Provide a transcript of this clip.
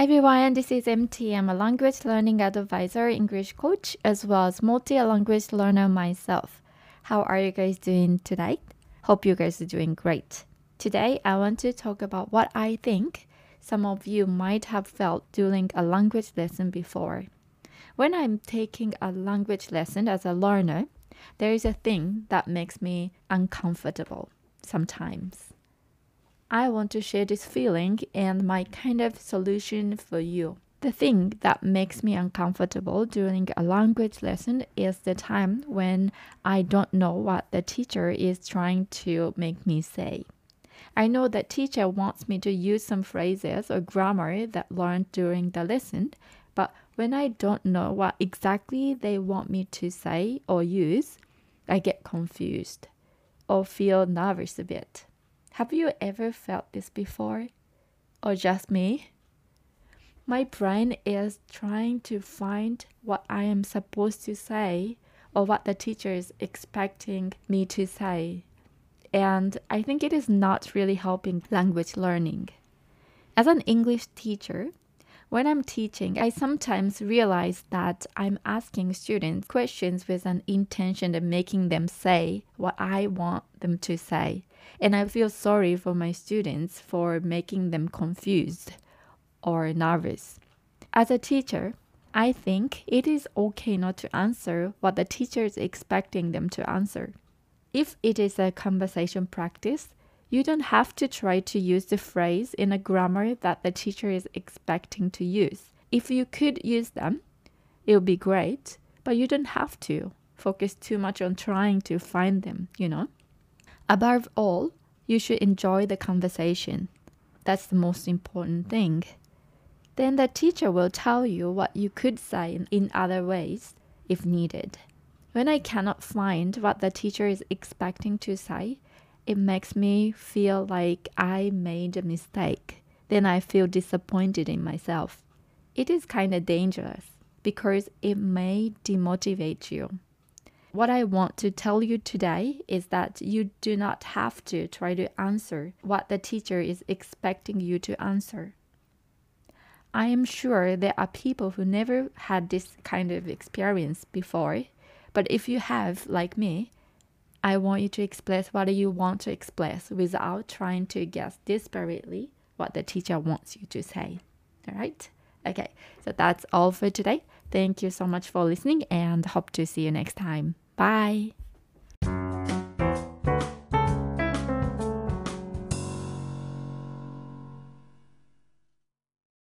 Hi everyone, this is MT. I'm a language learning advisor, English coach, as well as multi-language learner myself. How are you guys doing tonight? Hope you guys are doing great. Today, I want to talk about what I think some of you might have felt during a language lesson before. When I'm taking a language lesson as a learner, there is a thing that makes me uncomfortable sometimes. I want to share this feeling and my kind of solution for you. The thing that makes me uncomfortable during a language lesson is the time when I don't know what the teacher is trying to make me say. I know that teacher wants me to use some phrases or grammar that learned during the lesson, but when I don't know what exactly they want me to say or use, I get confused or feel nervous a bit. Have you ever felt this before? Or just me? My brain is trying to find what I am supposed to say or what the teacher is expecting me to say. And I think it is not really helping language learning. As an English teacher, when I'm teaching, I sometimes realize that I'm asking students questions with an intention of making them say what I want them to say. And I feel sorry for my students for making them confused or nervous. As a teacher, I think it is okay not to answer what the teacher is expecting them to answer. If it is a conversation practice, you don't have to try to use the phrase in a grammar that the teacher is expecting to use. If you could use them, it would be great, but you don't have to focus too much on trying to find them, Above all, you should enjoy the conversation. That's the most important thing. Then the teacher will tell you what you could say in other ways if needed. When I cannot find what the teacher is expecting to say, it makes me feel like I made a mistake. Then I feel disappointed in myself. It is kind of dangerous because it may demotivate you. What I want to tell you today is that you do not have to try to answer what the teacher is expecting you to answer. I am sure there are people who never had this kind of experience before, but if you have, like me, I want you to express what you want to express without trying to guess desperately what the teacher wants you to say. All right? Okay, so that's all for today. Thank you so much for listening and hope to see you next time. Bye.